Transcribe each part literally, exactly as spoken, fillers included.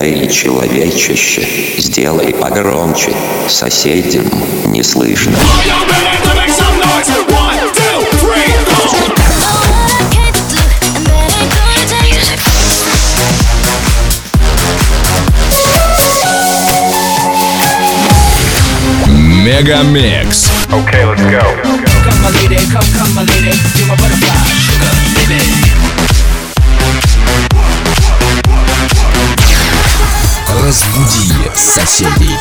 Эй, человечище, сделай погромче, соседям не слышно. Мегамикс. Okay, let's go. Come my lady, come, come my lady, you're my butterfly, sugar, baby. Разбуди соседей.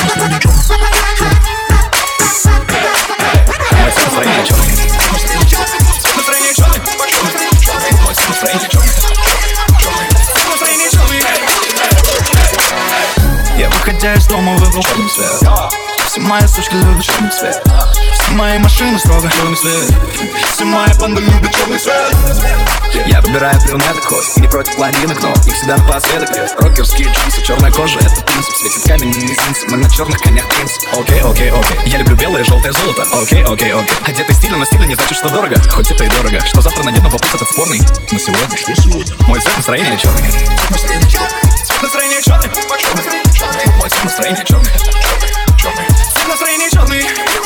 Я, выходя из дома, выбрал черный цвет. Все мои сучки любят черный цвет. Все мои машины строго черный цвет. Все мои банды любят черный цвет. Я выбираю брюнеток хоть и не против блондинок, но их всегда напоследок. Рокерские джинсы, черная кожа, это принцип. Светит камень, не снится, мы на черных конях принцип. Окей, окей, окей. Я люблю белое, желтое, золото. Окей, окей, окей. Одетый стильно, но стильно не значит, что дорого. Хоть это и дорого. Что завтра надену, вопрос этот спорный. Но сегодня, мой цвет настроения черный. Цвет настроения черный. Мой цвет настроения черный. Цвет настроения черный.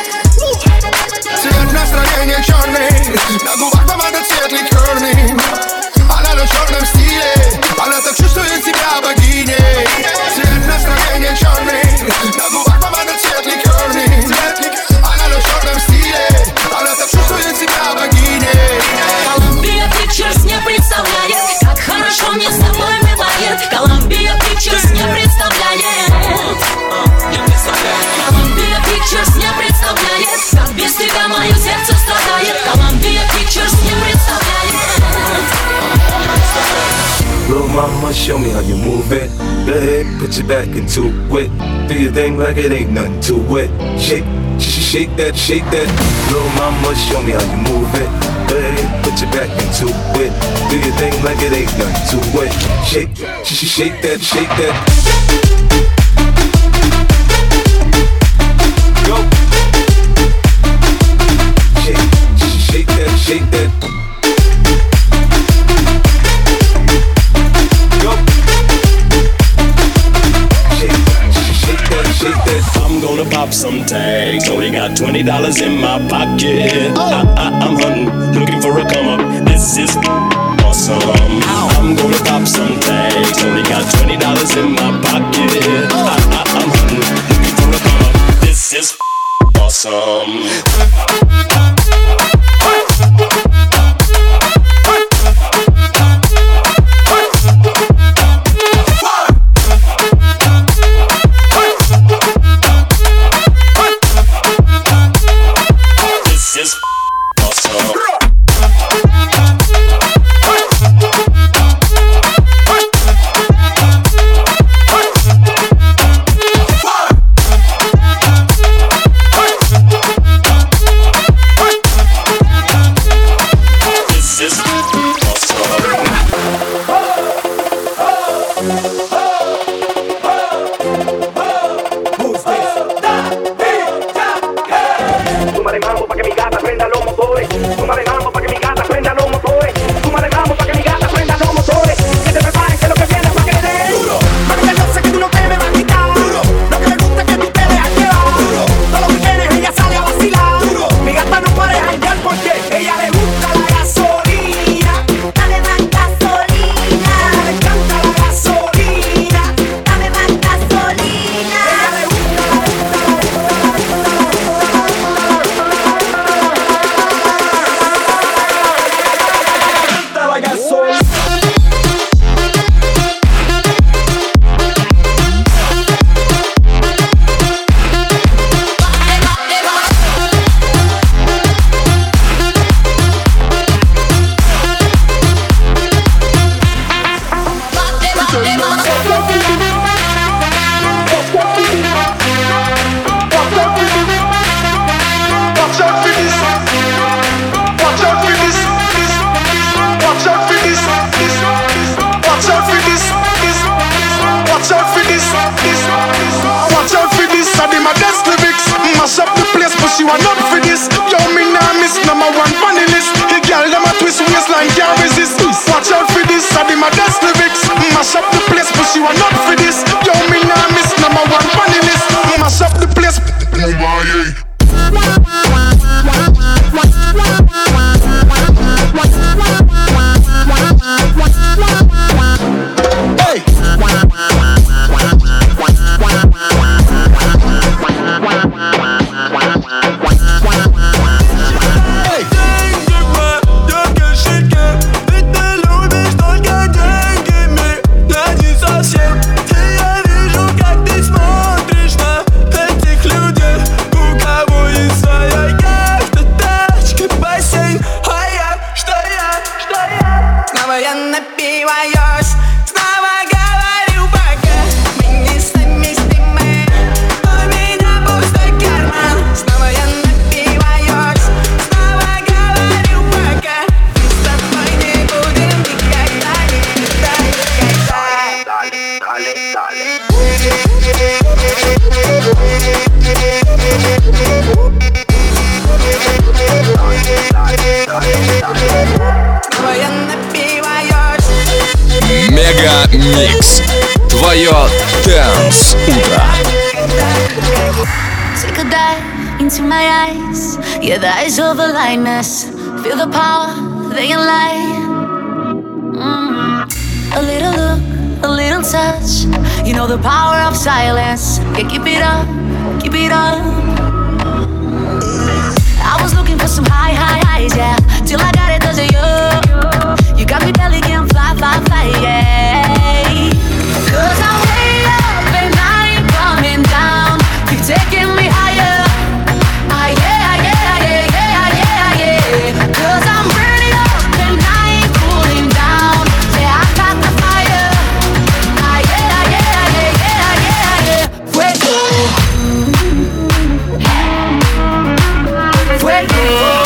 Цвет настроения черный. На губах помада цвет ликерный. Она на черном стиле. Она так чувствует себя богиней. Цвет настроения черный. На губах помада цвет ликерный. Она на черном стиле. Она так чувствует себя богиней. Columbia Pictures не представляет, как хорошо мне с тобой бывает. Columbia Pictures не представляет. Columbia Pictures не представляет, как без тебя мое сердце страдает. Columbia Pictures не представляет. Little mama, show me how you move it. Go ahead, put your back into it. Do your thing like it ain't nothing to it. Shake, sh- shake that, shake that. Little mama, show me how you move it. Go ahead, put your back into it. Do your thing like it ain't nothing to it. Shake, sh- shake that, shake that. Go. Shake, sh- shake that, shake that. I'm gonna pop some tags. Only got twenty dollars in my pocket. I, I, I'm hunting, looking for a come up. This is awesome. I'm gonna pop some tags. Only got twenty dollars in my pocket. I, I, I'm hunting, looking for a come up. This is awesome. Watch out for this, I be my best lyrics. Mash up the place, push you are not for this. Yo, me nah miss number one funny list. Mash up the place. Hey. Мегамикс. Твое Dance утро. Take a dive into my eyes. Yeah, the eyes of a lioness. Feel the power, they can lie. Mm. A little look, a little touch. You know the power of silence. Yeah, keep it up, keep it up. I was looking for some high, high highs, yeah. Till I got it cause of you. You got me belly can fly, fly, fly, yeah. Cause I'm way up and I ain't coming down. Keep taking me higher. Ah, yeah, yeah, yeah, yeah, yeah, yeah. Cause I'm burning up and I ain't cooling down. Yeah, I got the fire. Ah, yeah, yeah, yeah, yeah, yeah, yeah. Fuego. Fuego.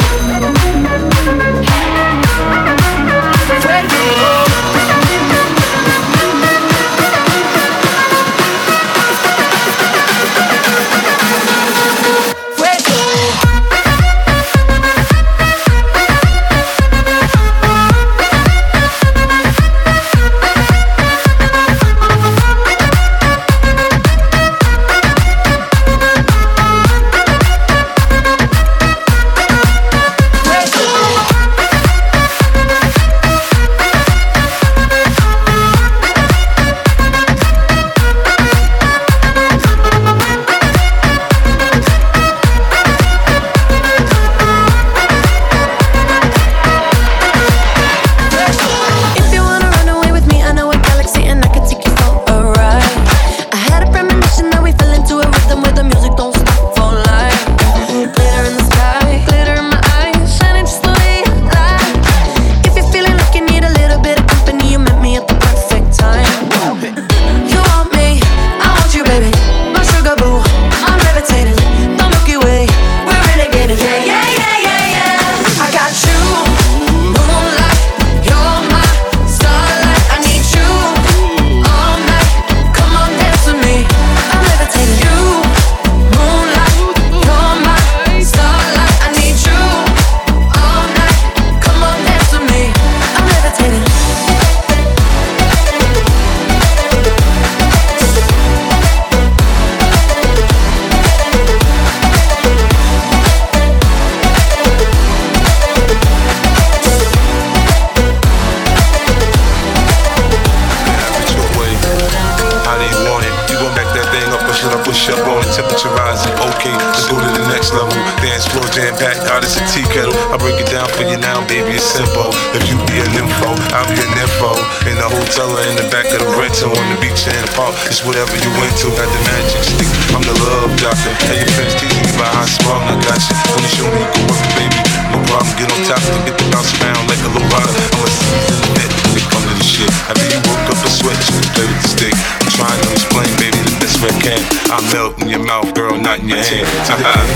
It's whatever you into, got the magic stick. I'm the love doctor. Hey, your friends teasing you about how strong I got you. Wanna show me you can work it, baby? No problem, get on top and get the bounce around like a low rider. I'm a seasoned vet when it comes to the shit. After you woke up a sweat, you can play with the stick. I'm trying to explain, baby, the best way I can. I melt in your mouth, girl, not in your hand. I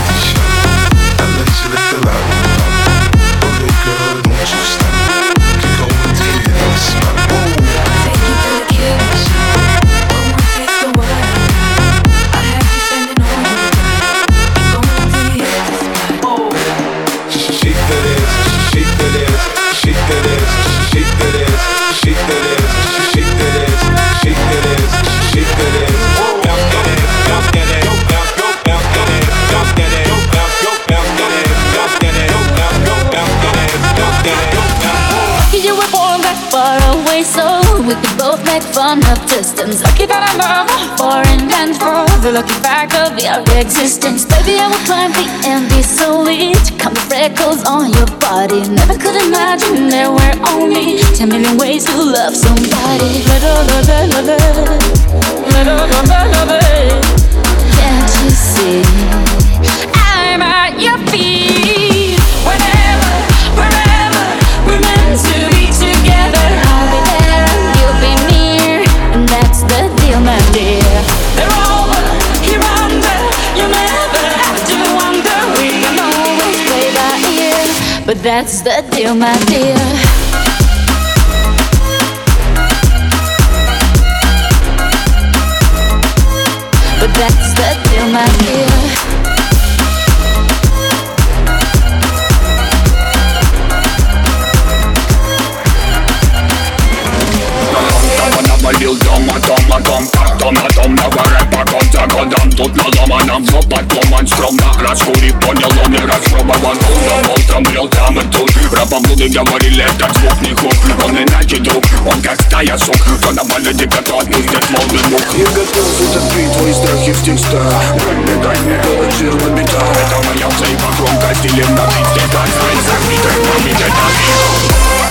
let you lick the loud. Okay, girl, don't you stop. Keep going till you hit the spot. Take you to the kitchen. Shake that ass, shake that ass, shake that ass, shake that ass, shake that ass, distance. Lucky that I love a foreign dance floor. The lucky fact of your existence. Baby, I will climb the and be so lit. Come the freckles on your body. Never could imagine there were only ten million ways to love somebody. Can't you see? I'm at your feet. Whenever, wherever, we're meant to be together. I'll be there, you'll be near, and that's the deal, my dear. They're over, here under. You never have to wonder. We can always play by ear, but that's the deal, my dear. But that's the deal, my dear. Валил дома, дома, дом, как дом на дом, на рэпа, год за годом. Тут наломано, все подломан, скромно раскурив, понял, он и распробован. Утром, утром, брел там и тут. Рабоблуды говорили, этот звук не хук. Он иначе друг, он как стая сук. Кто на балете, кто отпустит волны мух. Я готов утопить твои страхи в текстах. Дай мне, дай мне, голоджило бита. Это моя взаима громко, стилем на бит. Здесь дай свои забиты, маме, дай на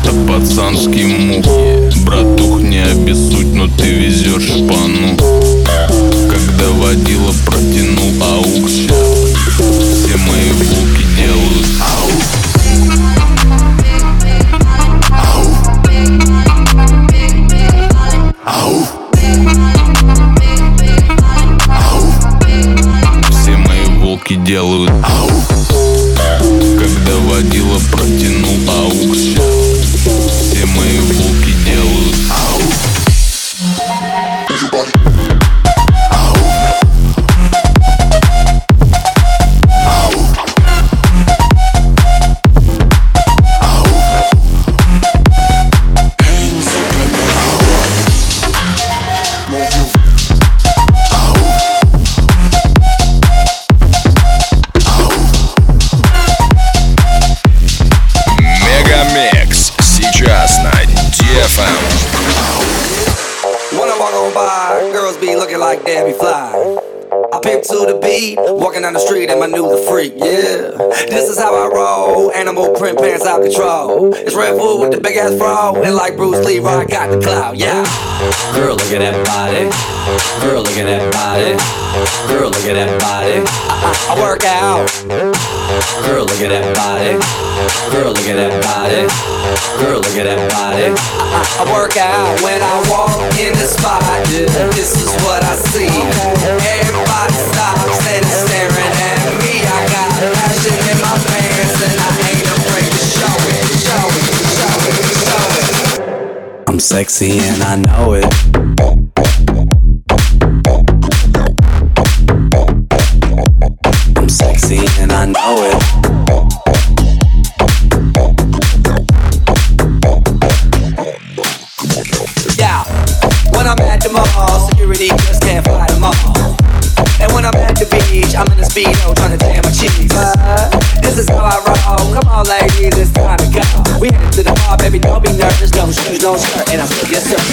это пацанский мух. Братух, не обессудь, но ты везешь шпану. Когда водила протянул аукс, все мои булки делают ау. Ау. Ау. Все мои волки делают ау. Когда водила протянул аукс, все мои волки делают ау. Like Debbie Fly, I pimp to the beat, walking down the street and my new the freak, yeah. This is how I roll, animal print pants out control. It's Red Bull with the big ass fro, and like Bruce Lee, I got the clout, yeah. Girl, look at that body. Girl, look at that body. Girl, look at that body. I, I, I work out. Girl, look at that body. Girl, look at that body. Girl, look at that body. I, I, I work out when I walk in the spot. This is what I see. Everybody stops and is staring at me. I got passion in my pants and I ain't afraid to show it, show it, show it, show it. I'm sexy and I know it. I'm sexy and I know it. Yeah, when I'm at the mall, security just can't fly them all. And when I'm at the beach, I'm in a speedo trying to tan my cheeks. Uh, this is how I roll. Come on, ladies, it's time to go. We headed to the bar, baby, don't be nervous. No shoes, no shirt, and I'm still yes, sir.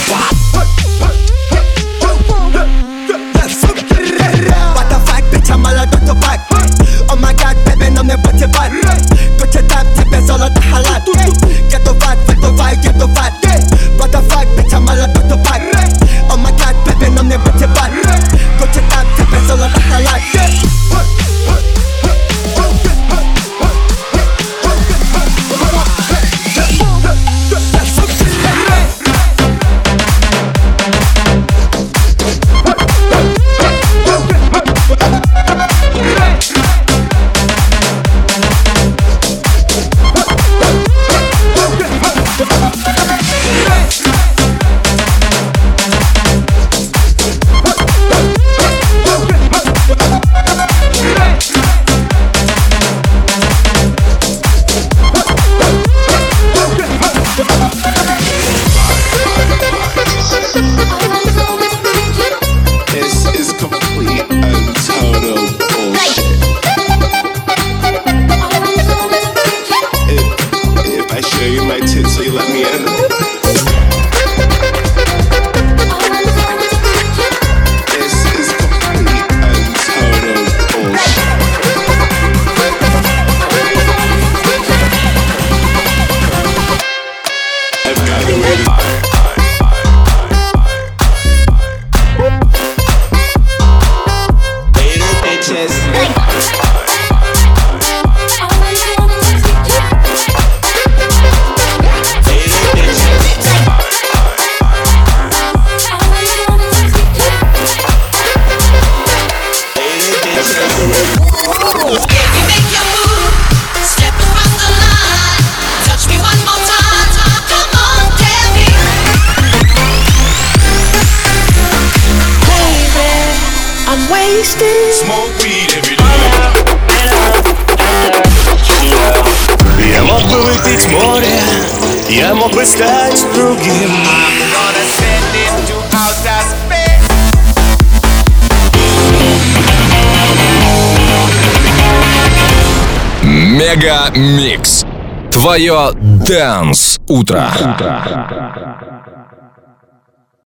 What the fuck, bitch, I'm all about to fuck. Oh my god, baby, no me put your butt. Put your tap, tip, and all of the halat. Get the fat, get the fat, get the fat. What the fuck, bitch, I'm all about to fuck. Oh my god, baby, no me put your butt. Put your tap, tip, and all of the halat. Smoke weed every day. Я мог бы выпить море, я мог бы стать другим. Мега Микс. Твое Dance утро.